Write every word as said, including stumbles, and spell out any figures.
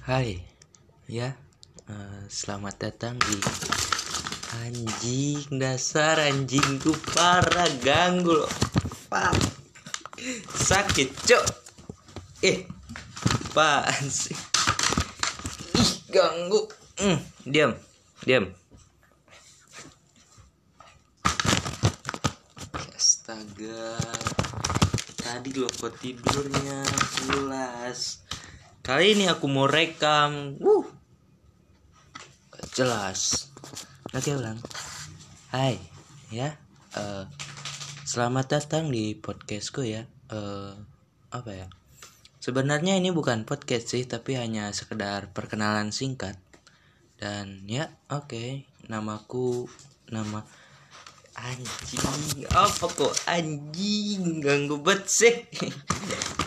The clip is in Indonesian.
Hai, ya, eh, selamat datang di anjing dasar anjingku parah ganggu loh, pak sakit cok, eh, apaan sih, ih ganggu, mm, diam, diam, astaga, tadi lo kok tidurnya pulas. Kali ini aku mau rekam. Wuh. Gak jelas. Oke, ulang. Hai, ya. Uh, selamat datang di podcastku ya. Uh, apa ya? Sebenarnya ini bukan podcast sih, tapi hanya sekedar perkenalan singkat. Dan ya, oke. Okay. Namaku nama anjing. Apa kok anjing? Ganggu banget sih.